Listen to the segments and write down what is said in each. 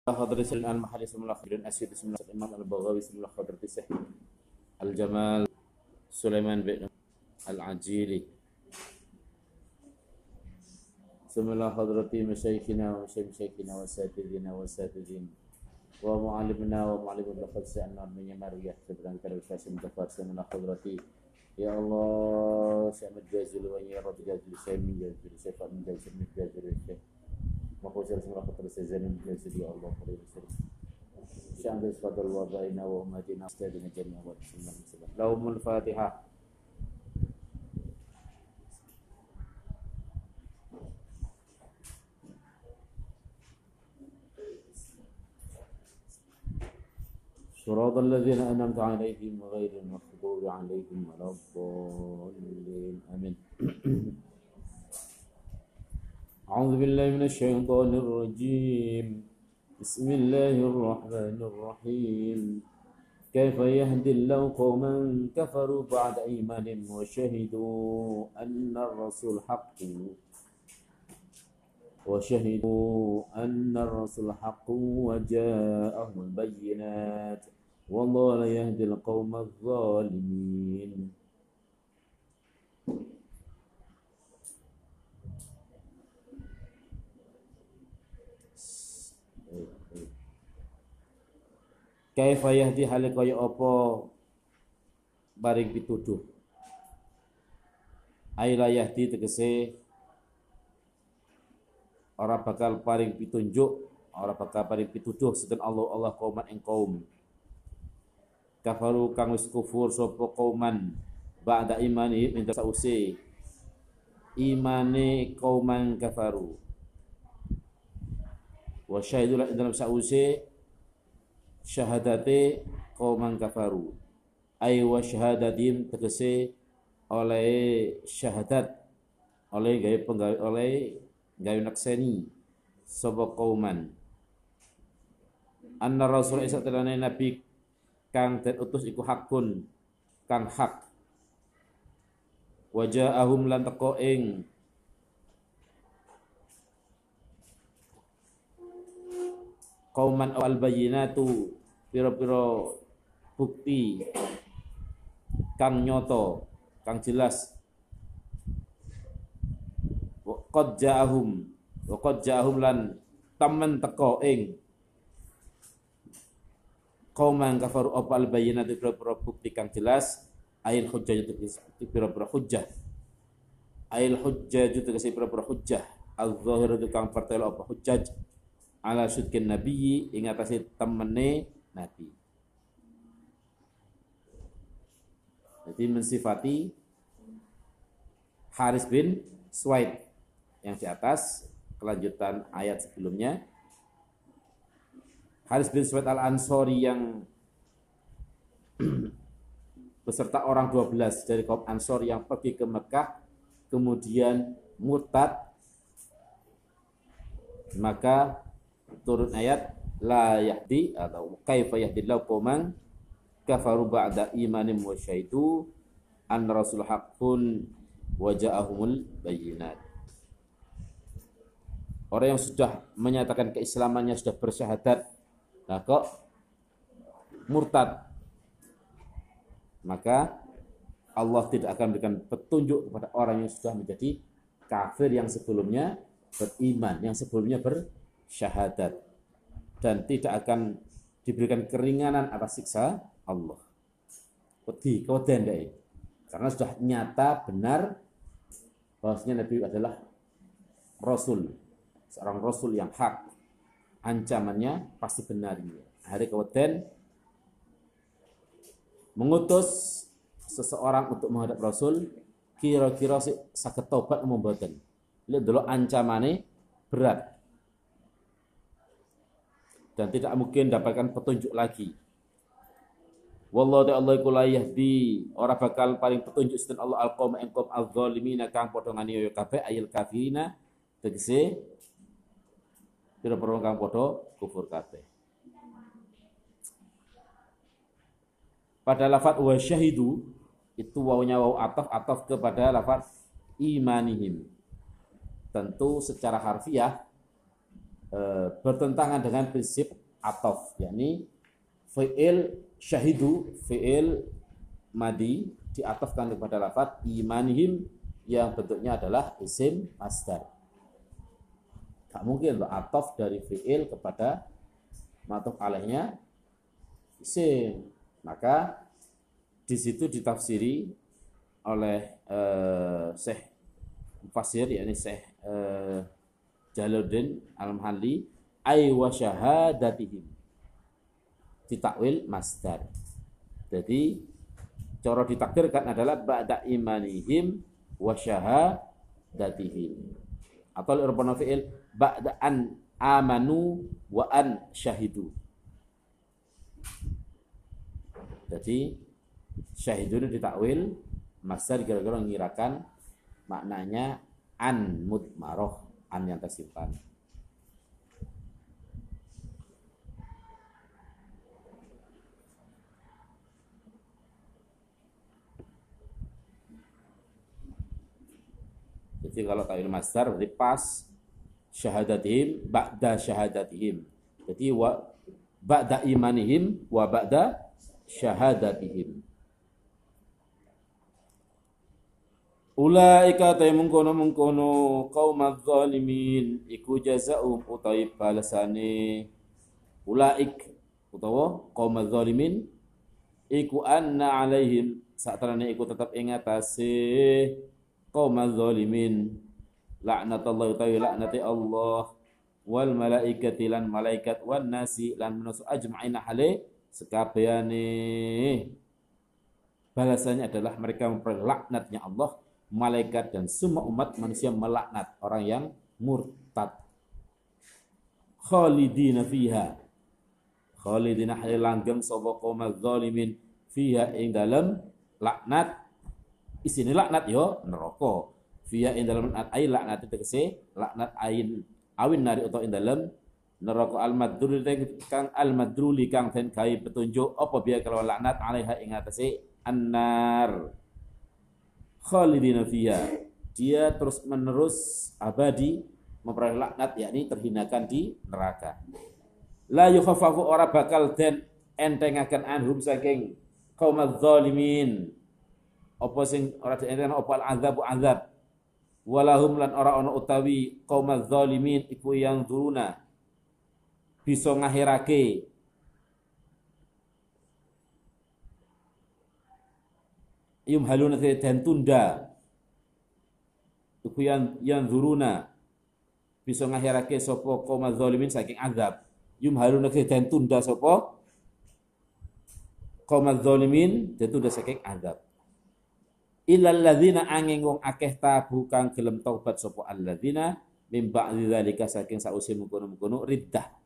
حضرة المحلي بسم الله خضر الأسود بسم الله الإمام البغوي بسم الله خضر السحي الجمال سليمان بن العجيلي بسم الله حضرة مشايخنا ومشايخنا وساتذين ومعلمنا ومعلم الأخذ سألنا من يمارية سبحانه وتعالى وساسم جفار بسم الله حضرة يا الله سأمد جازل ويا رب جازل سيمين جازل سيفا من جازل من جازل مقوسر اسم الله خطر سيزان من جازل يا الله خير وسلم شأن فضل وضعنا وأمتنا استاذنا جميعا بسم الله وسلم لهم الفاتحة صراط الذين أنعمت عليهم غير المغضوب عليهم ولا الضالين آمين أعوذ بالله من الشيطان الرجيم بسم الله الرحمن الرحيم كيف يهدي الله قوما كفروا بعد إيمانهم وشهدوا أن الرسول حق وجاءهم البينات والله لا يهدي القوم الظالمين Kaifa yahdi hale kaya apa baring pituduh aila yahdi tegese ora bakal paring pitunjuk ora bakal paring pituduh sinten Allah kauman ing kaum kafaru kang wis kufur sapa kauman ba'da imani minta sause imane kauman kafaru wa syahidu la dalam sause syahadate kauman kafaru ay wa syahadatim tegese oleh syahadat oleh gawe nakseni sapa kauman anna rasul isa telane nabi kang den utus iku hakun kang hak wajaahum lan teko ing kauman al bayyinatu pira-pira bukti kang nyoto kang jelas qad ja'ahum lan taman teko ing kauman kafaru opal bayyinatu pira-pira bukti kang jelas ail hujjah itu pira-pira hujjah ail hujjah itu pira-pira hujjah al-zahir itu kang pertelo apa hujjah ala syudkin nabiyyi ing atase temene nabi. Jadi mensifati Haris bin Suwaid yang di atas kelanjutan ayat sebelumnya. Haris bin Suwaid al-Ansori yang beserta orang 12 dari kaum Ansor yang pergi ke Mekah kemudian murtad, maka turun ayat la yahdi atau kaifa yahdillahu qauman kafaru ba'da imanim wa syaitu an rasul haqqun wa ja'ahumul bayyinat. Orang yang sudah menyatakan keislamannya, sudah bersyahadat, nah kok murtad, maka Allah tidak akan memberikan petunjuk kepada orang yang sudah menjadi kafir yang sebelumnya beriman, yang sebelumnya bersyahadat, dan tidak akan diberikan keringanan atas siksa Allah. Keweden deh, karena sudah nyata benar bahwasanya Nabi adalah Rasul, seorang Rasul yang hak, ancamannya pasti benar. Hari keweden mengutus seseorang untuk menghadap Rasul, kira-kira saged tobat mboten. Lihat dulu ancamannya berat dan tidak mungkin dapatkan petunjuk lagi. Wallahu ta'ala iku la yahdi ora bakal paling petunjuk sinten Allah al-qaum engkom al-zalimina kang padha nganiaya kabeh ayil kafirina tegese pira-pira kang padha kufur kabeh. Pada lafaz wa syahidu itu wawunya waw ataf kepada lafaz imanihim. Tentu secara harfiah bertentangan dengan prinsip atof, yakni fi'il syahidu, fi'il madi diatofkan kepada lafaz imanihim yang bentuknya adalah isim masdar. Gak mungkin loh atof dari fi'il kepada ma'tuf alaihnya isim. Maka di situ ditafsiri oleh Syekh Mufassir, yakni Syekh Jalaluddin Al-Mahalli, ay wa syahadatihim, ditakwil masdar. Jadi cara ditakdirkan adalah ba'da imanihim wa syahadatihim, atau irfana fi'il ba'da an amanu wa an syahidu. Jadi syahidun ditakwil masdar, kira-kira mengirakan maknanya an mudmaroh, an yang tersimpan. Jadi kalau takwil masdar berarti pas syahadatihim ba'da syahadatihim. Jadi wa ba'da imanihim wa ba'da syahadatihim. Ulaika ta mungkono qaumaz zalimin iku jazaa'um utawi balasane ulaik utawa qaumaz zalimin iku anna alaihim satrane iku tetep ing atase qaumaz zalimin laknatullah utawi laknati Allah wal malaikati lan malaikat wan nasi lan manusia ajma'ina hale sekabehane. Balasannya adalah mereka memperoleh laknatnya Allah, malaikat dan semua umat manusia melaknat orang yang murtad. Khalidina fiha, khalidina hale langgeng sapa qaumaz zalimin fiha ing dalem laknat. Isine laknat yo neraka. Fiha ing dalem laknat ai laknat tegese laknat ain awin nari utawa ing dalem neraka al-madrul kang al-madruli kang den gawe petunjuk apa biya kelawan laknat alaiha ing atase annar. Khalidina fiha, dia terus menerus abadi memperoleh laknat, yakni terhinakan di neraka. La yukhaffafu ora bakal den entengaken anhum saking qaumaz zalimin apa sing ora dienten apa al-azabu azab. Walahum lan ora ana utawi qaumaz zalimin iku yang duruna bisa ngahirake yumhaluna dan tunda iku yang duruna bisa ngahirake sapa qaumaz zalimin saking azab. Yumhaluna dan tunda sapa qaumaz zalimin dan tunda saking azab. Illal ladzina angin wong akeh tabu kang gelem taubat sapa alladzina mim ba'dzi dzalika saking sause mengkono-mengkono riddah.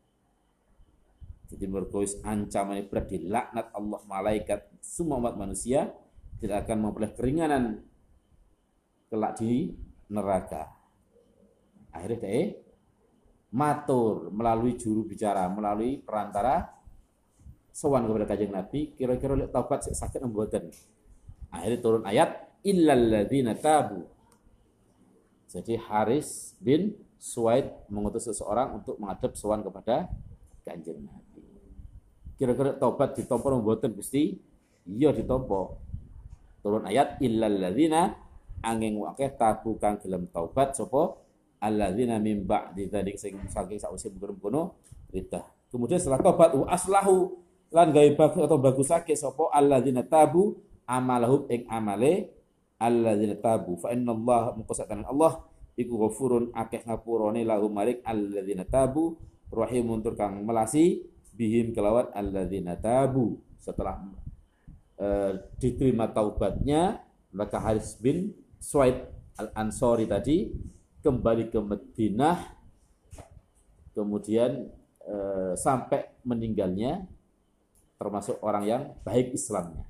Jadi berkois ancaman berat dilaknat Allah, malaikat, semua umat manusia tidak akan memperoleh keringanan kelak di neraka. Akhirnya dia matur melalui juru bicara, melalui perantara sowan kepada Kanjeng Nabi, kira-kira lek taubat sakit mboten. Akhirnya turun ayat illal ladzina tabu. Jadi Haris bin Suwaid mengutus seseorang untuk menghadap sowan kepada Kanjeng Nabi. Kira-kira taubat ditampa mboten Gusti? Iya ditampa. Turun ayat illal ladzina angin akeh tabu kang gelem taubat sapa alladzina mim ba'di dzalik sing saking sause mengkono ridah. Kemudian setelah taubat aslahu lan gawe bagus atau bagusake sapa alladzina tabu amalahum ing amale alladzina tabu fa innallaha muqassatan Allah iku ghafurun akeh ngapurane lahum malik alladzina tabu rahimun tur kang melasi bihim kelawan alladzina tabu. Setelah diterima taubatnya, maka Haris bin Suwaid Al-Ansari tadi kembali ke Madinah, kemudian sampai meninggalnya termasuk orang yang baik Islamnya.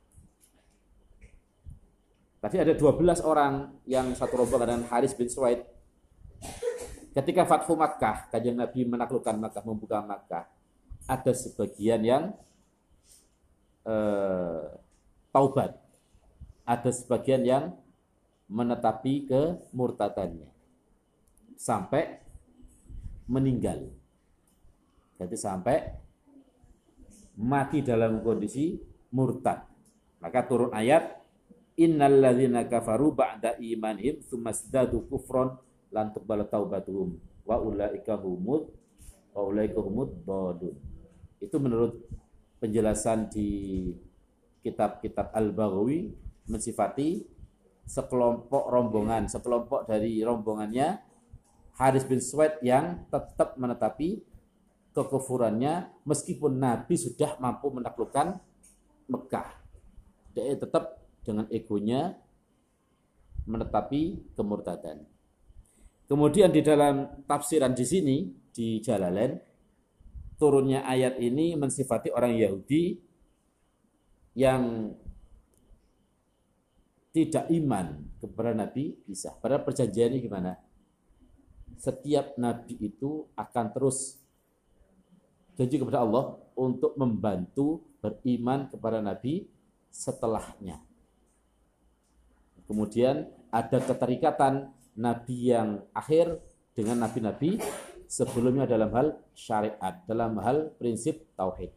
Tadi ada 12 orang yang satu rombongan dengan Haris bin Suwaid. Ketika Fathu Makkah, Kanjeng Nabi menaklukkan Makkah, membuka Makkah, ada sebagian yang taubat, ada sebagian yang menetapi kemurtadannya, sampai meninggal. Jadi sampai mati dalam kondisi murtad. Maka turun ayat innal ladzina kafaru ba'da imanihim tsumazdadu kufron lan tuqbal taubatuhum wa ulaika humud dhalun. Itu menurut penjelasan di kitab-kitab Al-Baghawi mensifati sekelompok dari rombongannya Haris bin Suwaid yang tetap menetapi kekufurannya meskipun Nabi sudah mampu menaklukkan Mekah. Dia tetap dengan egonya menetapi kemurtadan. Kemudian di dalam tafsiran di sini di Jalalain turunnya ayat ini mensifati orang Yahudi yang tidak iman kepada Nabi Isa. Padahal perjanjiannya gimana? Setiap Nabi itu akan terus janji kepada Allah untuk membantu beriman kepada Nabi setelahnya. Kemudian ada keterikatan Nabi yang akhir dengan Nabi-Nabi sebelumnya dalam hal syariat, dalam hal prinsip tauhid.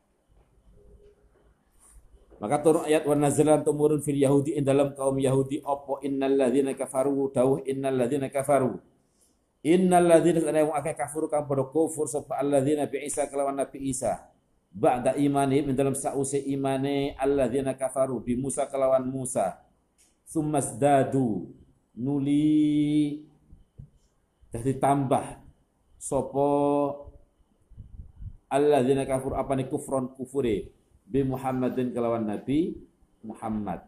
Maka turun ayat wa nazalan tumurun fil yahudi in dalam kaum Yahudi opo innal ladzina kafaru dawuh innal ladzina kafaru innal ladzina yang akeh kafir kang padha kufur sapa alladzina bi Isa kelawan Nabi Isa ba'da imanihim dalam sause imane alladzina kafaru bi Musa kelawan Musa sumasdadu nuli dadi tambah sapa alladzina kafur apane kufron kufure bi Muhammadin kelawan Nabi Muhammad.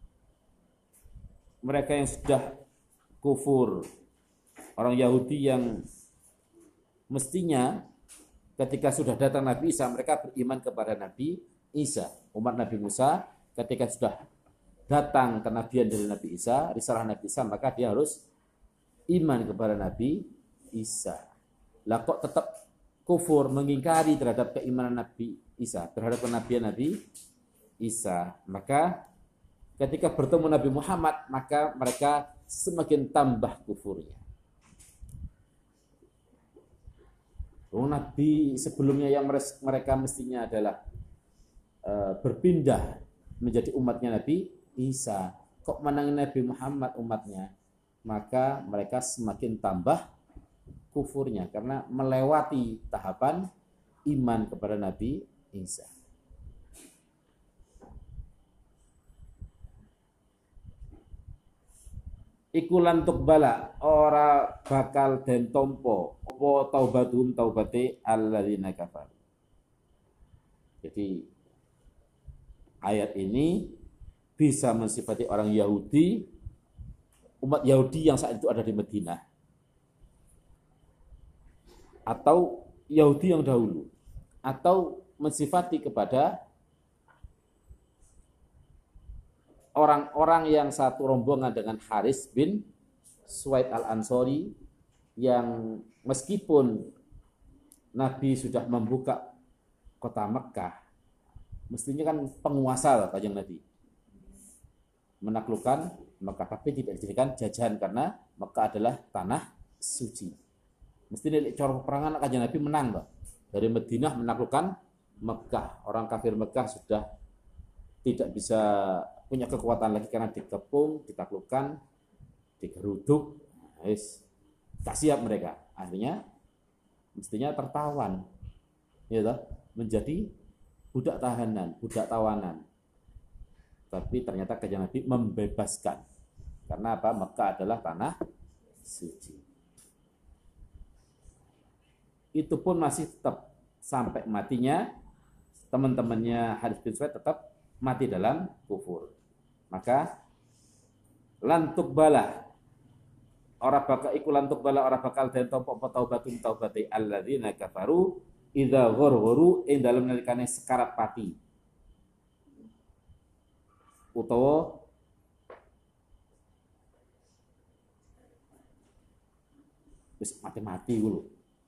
Mereka yang sudah kufur, orang Yahudi yang mestinya ketika sudah datang Nabi Isa, mereka beriman kepada Nabi Isa. Umat Nabi Musa ketika sudah datang kenabian dari Nabi Isa, risalah Nabi Isa, maka dia harus iman kepada Nabi Isa. Lah kok tetap kufur, mengingkari terhadap keimanan Nabi Isa, terhadap kenabian Nabi Isa. Maka ketika bertemu Nabi Muhammad, maka mereka semakin tambah kufurnya. Nabi sebelumnya yang mereka mestinya adalah berpindah menjadi umatnya Nabi Isa, kok menangin Nabi Muhammad umatnya, maka mereka semakin tambah kufurnya karena melewati tahapan iman kepada Nabi Isa. Iku lantuk bala ora bakal den tompo apa taubatum taubate alladzina kafar. Jadi ayat ini bisa mensifati orang Yahudi, umat Yahudi yang saat itu ada di Madinah, atau Yahudi yang dahulu, atau mensifati kepada orang-orang yang satu rombongan dengan Haris bin Suwaid al-Ansori yang meskipun Nabi sudah membuka kota Mekah, mestinya kan penguasa kanjeng Nabi menaklukkan Mekah, tapi tidak dijadikan jajahan karena Mekah adalah tanah suci. Mestinya cara peperangan kanjeng Nabi menang loh. Dari Madinah menaklukkan Mekah. Orang kafir Mekah sudah tidak bisa punya kekuatan lagi karena dikepung, ditaklukkan, digeruduk. Tak siap mereka. Akhirnya mestinya tertawan. Ya toh, menjadi budak tahanan, budak tawanan. Tapi ternyata kanjeng Nabi membebaskan. Karena apa? Mekah adalah tanah suci. Itu pun masih tetap sampai matinya teman-temannya Haris bin Suwaid tetap mati dalam kufur. Maka lantuk bala ora bakal iku lantuk bala ora bakal den tampa taubatun taubati alladzina kafaru idza ghurghuru ing dalem nalikane sekarat pati utawa wis mati-mati lho.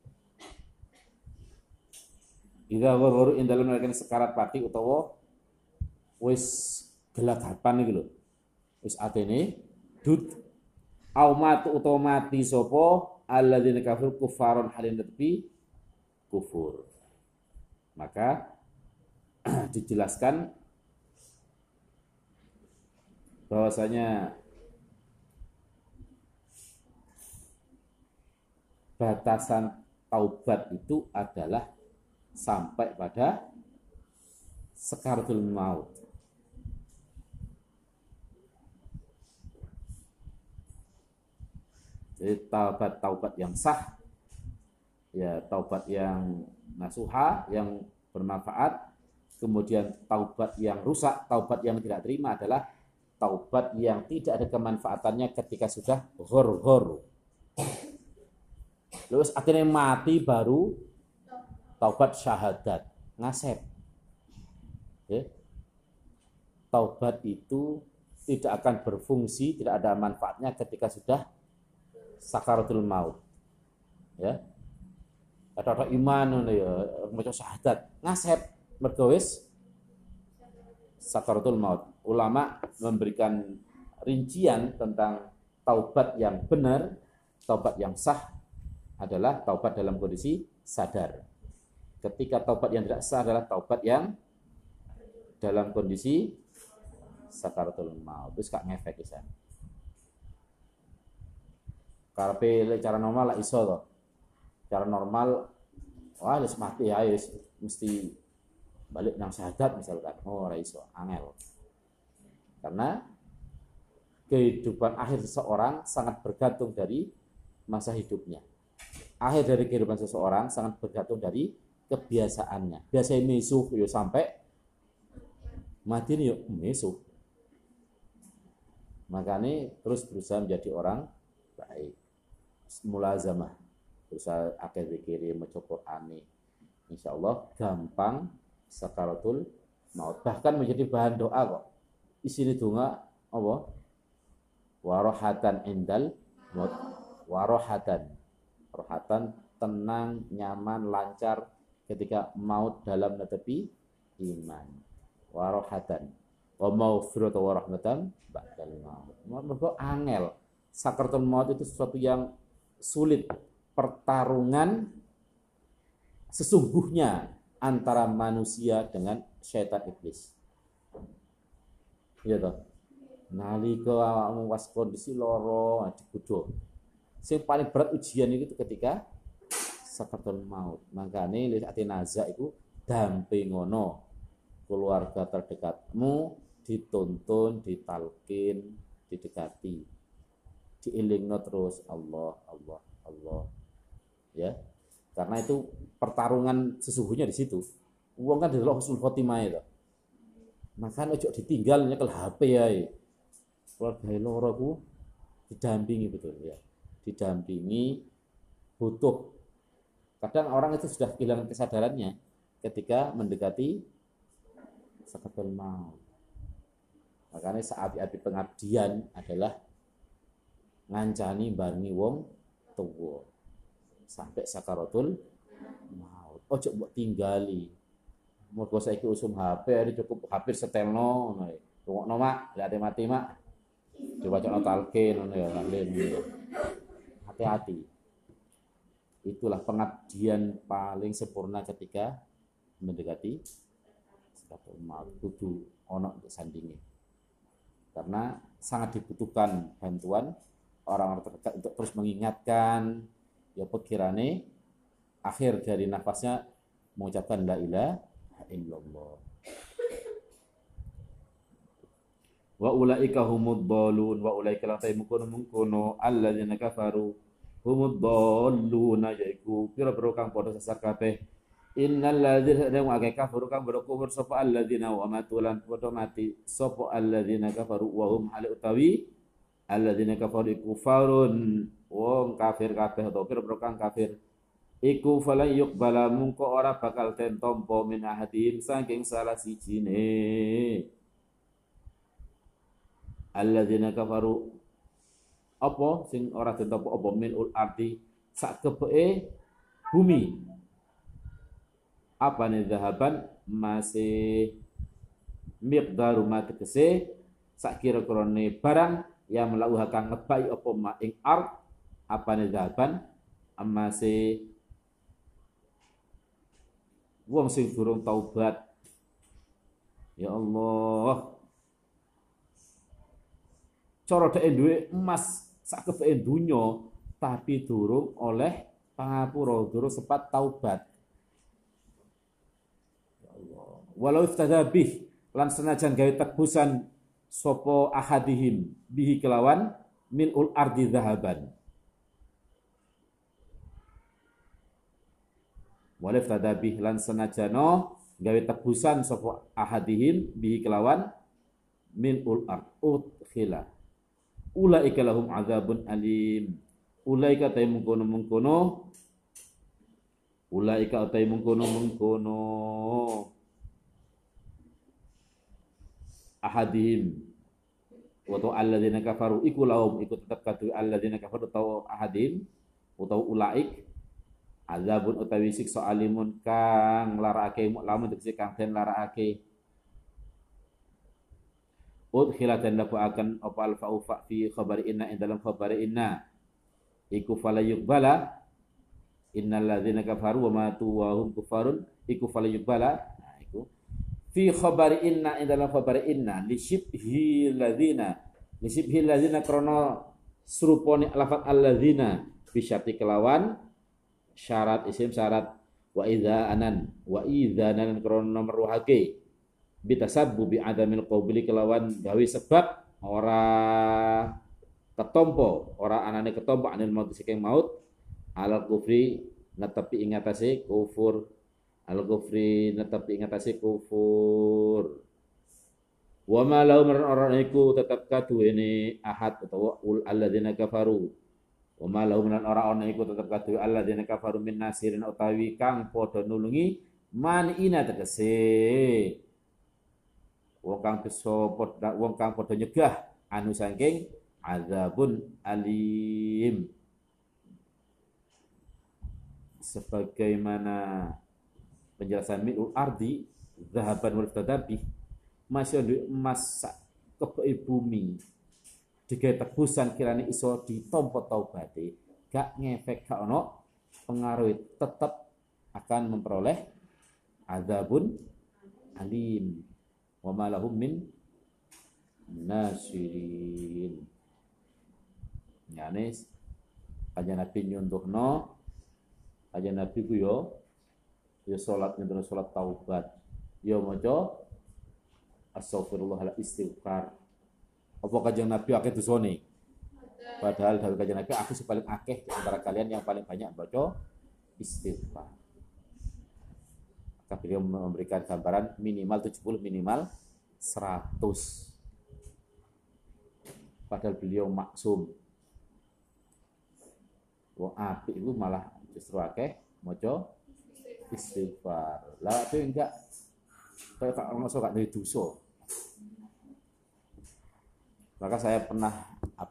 Idza ghurghuru ing dalem nalikane sekarat pati utawa wis gelagapan iki lho. Wis atene dut au matu utawa mati sapa alladzina kafaru kufaron halin tepi kufur. Maka dijelaskan bahwasanya batasan taubat itu adalah sampai pada sakaratul maut. Jadi taubat yang sah, ya taubat yang nasuha, yang bermanfaat. Kemudian taubat yang rusak, taubat yang tidak terima adalah taubat yang tidak ada kemanfaatannya ketika sudah ghor-ghor. Terus akhirnya mati baru taubat syahadat, ngasep. Okay. Taubat itu tidak akan berfungsi, tidak ada manfaatnya ketika sudah sakaratul maut. Ya. Ada iman ya, macam syahadat, ngasep mergo wis sakaratul maut. Ulama memberikan rincian tentang taubat yang benar, taubat yang sah adalah taubat dalam kondisi sadar. Ketika taubat yang tidak sah adalah taubat yang dalam kondisi sakaratul maut. Terus kak ngefek isan. Karepe cara normal lah iso to. Cara normal wah wis mati ya wis mesti balik nang syahadat misalkan. Oh ora iso, angel. Karena kehidupan akhir seseorang sangat bergantung dari masa hidupnya. Akhir dari kehidupan seseorang sangat bergantung dari kebiasaannya. Biasanya mesuh yo sampai mati nih yo mesuh. Makanya terus berusaha menjadi orang baik. Mulazamah, berusaha akeh zikir, maca Qur'ani. Insyaallah gampang sakaratul maut. Bahkan menjadi bahan doa kok. Isine donga apa? Warohatan indal maut. Warohatan. Rohatan tenang, nyaman, lancar ketika maut dalam netepi iman. Warohatan. Wa maghfiratu wa rahmatan ba'dal maut. Mergo angel. Sakaratul maut itu sesuatu yang sulit, pertarungan sesungguhnya antara manusia dengan syaitan iblis. Iya toh. Nalika awakmu was kondisi lara digodho. Sing paling berat ujian itu ketika sakaratul maut. Makane li ati nazak iku dampingono keluarga terdekatmu dituntun, ditalkin, didekati. Diilingno terus Allah, Allah, Allah. Ya. Karena itu pertarungan sesungguhnya di situ. Wong kan delok husnul khotimah itu. Makanya ojo ditinggal nyekel HP ya. Keluarga loro ku didampingi betul ya. Didampingi butuh. Kadang orang itu sudah kehilangan kesadarannya ketika mendekati sakaratul maut. Makanya saat pengabdian adalah ngancani barengi wong tuwa sampai sakaratul maut. Ojo mbok tinggali. Mergo saiki usum HP hari cukup hampir setelno ngono. Rungokno mak, lek mati mak. Diwacana talqin ngono ya, lalim. Hati-hati. Itulah pengabdian paling sempurna ketika mendekati sakaratul maut. Kudu ono sandinge. Karena sangat dibutuhkan bantuan orang-orang terdekat untuk terus mengingatkan ya pikirane akhir dari nafasnya mengucapkan la ilaha illallah. Wa ulaika humud dhalun wa ulaika la taymukunu alladzina kafaru humud dhaluna yaiku pira-pira kang padha sesat kabeh. Innal ladzina kafaru kang berkufur sapa alladzina wa matulan padha mati sapa alladzina kafaru wa hum hal utawi alladzina kafaru kufarun wong kafir kabeh atau pira-pira kang kafir iku fala yuqbala mungko ora bakal den tampa min ahadin saking salah sijine alladzina kafaru apa sing ora den tampa apa min ul ardi sak kebeke bumi apa nih zahaban masih miqdaru ma tegese sak kira-kirane barang yang melauhakan ngebai apa ma ing ard apa nih zahaban amase wong sing durung taubat. Ya Allah, cara dhek duwe emas sak kebeke donya tapi durung oleh pangapura, durung sempat taubat. Ya Allah, walau iftada bih lan senajan gawe tebusan sapa ahadihim bihi kelawan milul ardi zahaban. Walau iftada bih lan senajano gawe tebusan sapa ahadihim bihi kelawan milul ard udkhila ulaika lahum adzabun alim. Ulaika tay mengkono ulaika tay mengkono ahadihim wa alladzina kafaru iku lahum iku tetep kadu alladzina kafaru tau ahadihim utawa ulaik azabun utawi siksa alimun kang larakake lamun tegese kang den larakake. Udkhila dan lafu akan apa al-fa'ufa fi khabari inna in dalam khabari inna iku falayuqbala innal ladzina kafaru wa matu wa hum kufarun iku falayuqbala. Nah iku fi khabari inna in dalam khabari inna li syibhi ladzina krana serupane lafaz alladzina bi syarti kelawan syarat isim syarat wa idzanan krana meruhake bitasabbu bi adamil qabli kelawan gawe sebab ora ketompo ora anane ketompo anil maut saking maut al kufri netepi ing atase kufur al kufri netepi ing atase kufur wa ma lahum ora iku tetep kaduwene ahad utawa ul alladzina kafaru wa ma lahum ora ana iku tetep kaduwe alladzina kafaru min nasirin utawi kang padha nulungi manina tegese wong kang padha nyegah anu saking azabun alim. Sebagaimana penjelasan milul ardi zahaban wal tadabi masih di emas kebeki bumi digawe tebusan kirane iso ditampa taubate gak ngefek gak ono pengaruh tetap akan memperoleh azabun alim wa ma lahum min nasirin. Yani kanjeng Nabi nyuntuhno kanjeng Nabi ku yo salat nyuntuhno salat taubat yo maca astaghfirullah istighfar. Apa kanjeng Nabi akeh dosane? Padahal dari kanjeng Nabi aku paling akeh di antara kalian yang paling banyak baca istighfar. Maka beliau memberikan gambaran minimal 70 minimal 100. Padahal beliau maksum. Wong apik itu malah justru akeh maca istighfar. Lah itu enggak kayak tak ngono gak duwe dosa. Maka saya pernah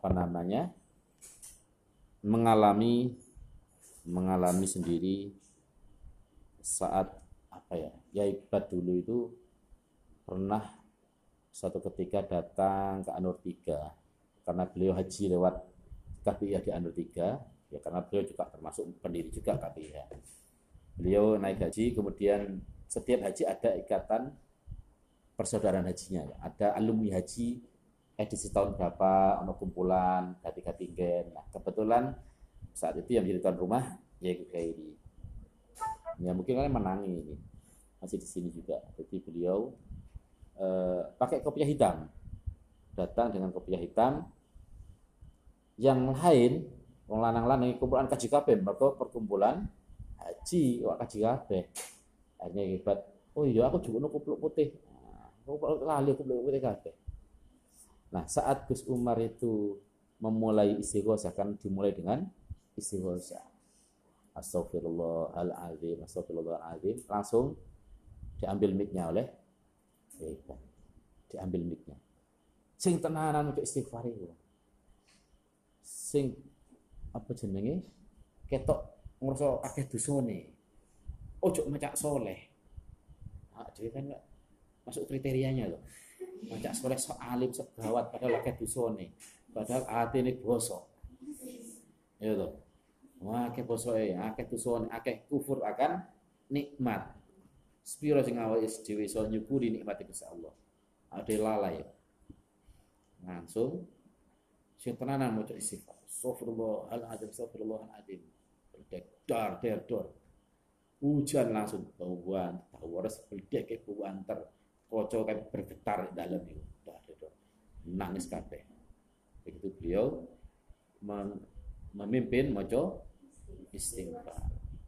mengalami sendiri saat Yaibat dulu itu pernah suatu ketika datang ke Anur 3 karena beliau haji lewat KPIH di Anur 3 ya karena beliau juga termasuk pendiri juga KPIH. Beliau naik haji kemudian setiap haji ada ikatan persaudaraan hajinya, ada alumni haji edisi tahun berapa, ono kumpulan ganti-ganti gen. Nah, kebetulan saat itu yang menjadi tuan rumah ya Khairi. Ya mungkin kalian menangi ini. Masih di sini juga. Jadi beliau pakai kopiah hitam. Datang dengan kopiah hitam. Yang lain wong lanang-lanang kumpulan kaji kabeh, mergo perkumpulan haji wak kaji kabeh. Akhirnya hebat. Oh iya aku juga kupluk putih. Aku lali kupluk putih kabeh. Nah, saat Gus Umar itu memulai istighosah kan dimulai dengan istighosah. Astagfirullahaladzim, astagfirullahaladzim. Langsung diambil mic-nya oleh diambil mic-nya. Sing tenanan untuk istighfar itu. Sing apa jenenge? Ketok ngrasa akeh dosane. Ojo macak soleh. Nah, jadi kan masuk kriterianya loh. Macak soleh sok alim sok gawat padahal akeh dosane. Padahal atine bosok. Ya toh. Wah, akeh posoe, akeh tusuan, akeh kufur akan nikmat. Spiro sing awake dhewe iso nyukuri nikmat Gusti Allah. Ade lalai. Langsung sing tenanan maca istighfar. Astagfirullahaladzim. Dar der dor. Hujan langsung bauan, tawares beldek ke bauan ter. Kocok kayak bergetar di dalam itu. Nangis kabeh. Begitu beliau memimpin maca istighfar.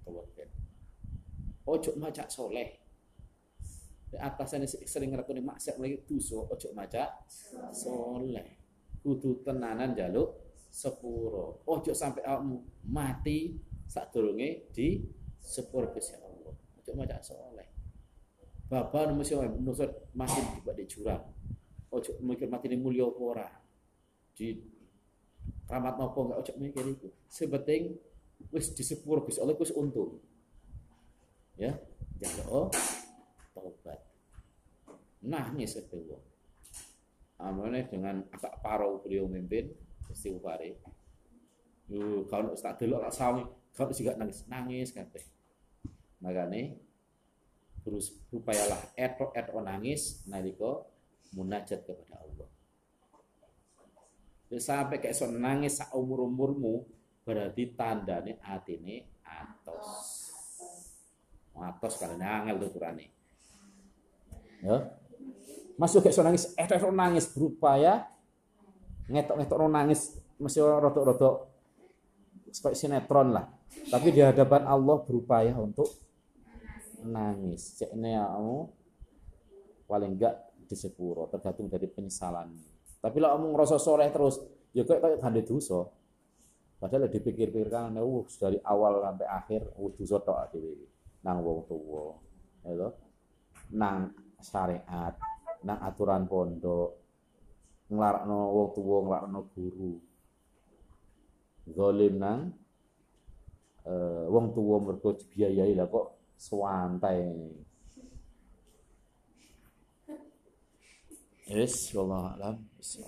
Ojo maca soleh. Di atasnya sering ngerakoni maksiat lagi dosa, ojo maca soleh. Kudu tenanan jaluk sepuro. Ojo sampai kamu mati sadurunge di sepuro Gusti Allah. Ojo maca soleh. Bapak mesti nusut mati di jurang. Ojo mikir mati ini mulia apa ora. Di keramat napa enggak ojo mikir itu. Sepenting wis di sepuro Gusti Allah wis untung. Ya, jaluk taubat. Nangis itu wong. Amane dengan agak parau beliau memimpin istighfare. Yo kalau tak delok tak sawi, kalau juga nangis kabeh. Makane berupayalah eto nangis nalika munajat kepada Allah. Sampai kayak so nangis sak umur-umurmu berarti tandane atine atos. Atos karena angel tuh Qur'ane. Ya. Masuk kayak so nangis, nangis berupaya ngetok nangis mesti rodok-rodok seperti sinetron lah. Tapi di hadapan Allah berupaya untuk nangis. Cekne kamu paling enggak di sepuro, tergantung dari penyesalan. Tapi kalau kamu ngerasa soleh terus, ya kayak gande dosa. Padahal dipikir-pikirkan dari awal sampai akhir dosa tok dhewe. Nang wong tuwa, ya nang syariat, nang aturan pondok, nglarakno wong tuwa, nglarakno guru. Zalim nang wong tuwa mergo dibiayai lah kok suwantai. Wallahu a'lam.